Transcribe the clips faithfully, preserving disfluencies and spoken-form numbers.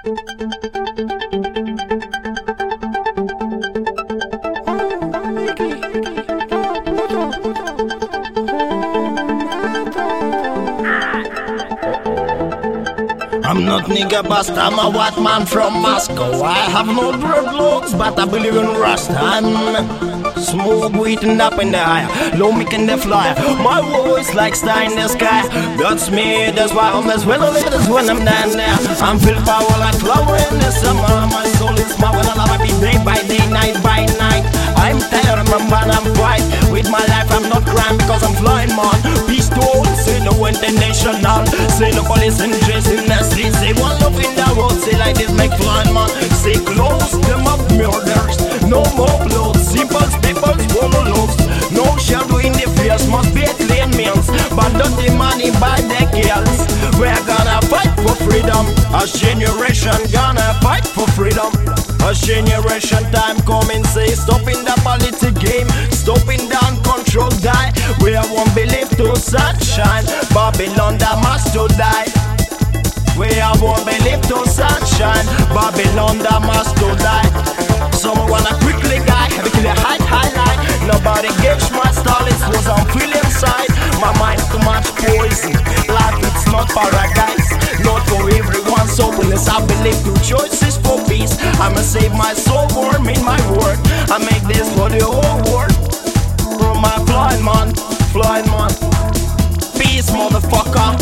I'm not nigga bust, I'm a white man from Moscow. I have no dreadlocks, but I believe in rust. I'm smooth, wheaten up in the higher, low making the flyer. My voice like star in the sky. That's me, that's why I'm as well as that's when I'm down there. I'm filled power like flower in the summer. My soul is smart when I love it day by day, night by night. I'm tired, remember I'm bright. With my life I'm not crying because I'm flying, man. Peace to all, say no international. Say no police and dress in the street. Say one love in the road, say like this make flying, man. Say close them up murders, no more blood. Simple people swallow loaves. No shadow in the face, must be a clean meals. But not the money by the girls. We're gonna fight for freedom. A generation gonna fight for freedom. A generation time coming, say stopping the politics game, stopping down control die. We won't believe to sunshine, Babylon that must to die. We won't believe to sunshine, Babylon that must to die. Someone wanna quickly guy, have a clear height highlight. Nobody gauge my style, it was on feel inside. My mind too much poison, life it's not paradise. Not for everyone, so unless I believe two choices for peace. I'ma save my soul, warm in my word. I make this for the whole world. From my flying man, flying man. Peace, motherfucker.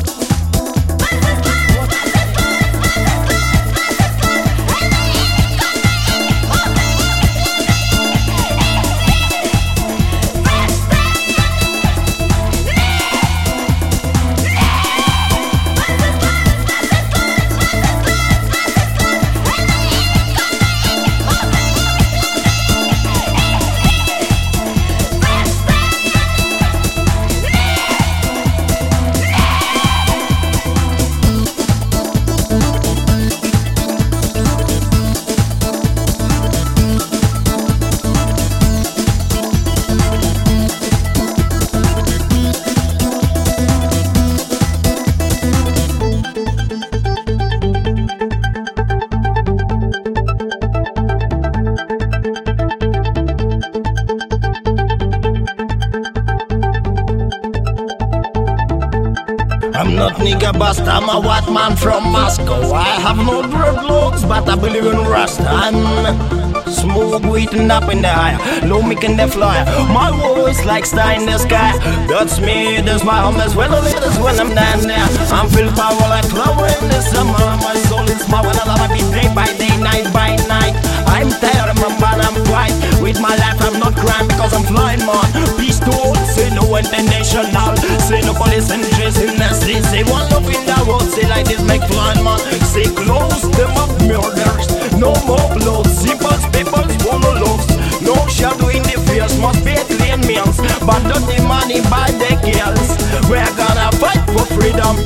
I'm not nigga bust, I'm a white man from Moscow. I have no dreadlocks, but I believe in rust. I'm smooth, wheaten up in the higher, low making the flyer. My voice like star in the sky. That's me, that's why I'm as well as that's when I'm down there. I'm filled power like flower in the summer. My soul is smart when I love it day by day, night by night. I'm tired, remember I'm bright. With my life I'm not crying because I'm flying, man. Peace to all, say no international. Say no police and dress in the street. Say one love in the road, say like this make flying, man. Say close them up murders, no more blood. Simple people swallow loaves. No shadow in the face, must be a clean meals. But not the money by the girls. We're gonna fight for freedom.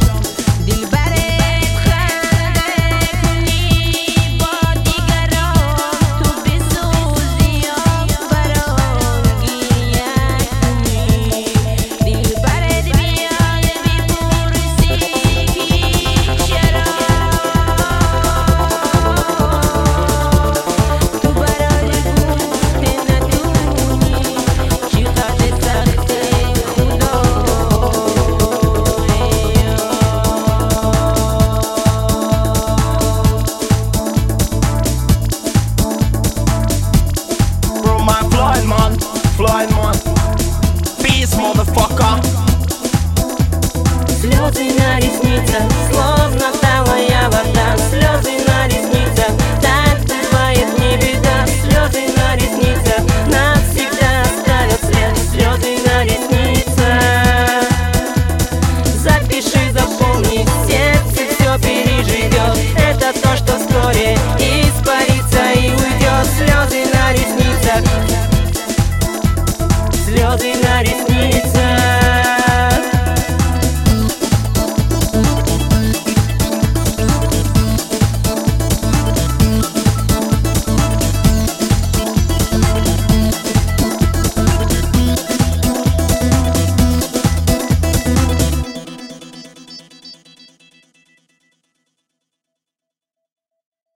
Flying man, peace, motherfucker. Слезы на ресницах.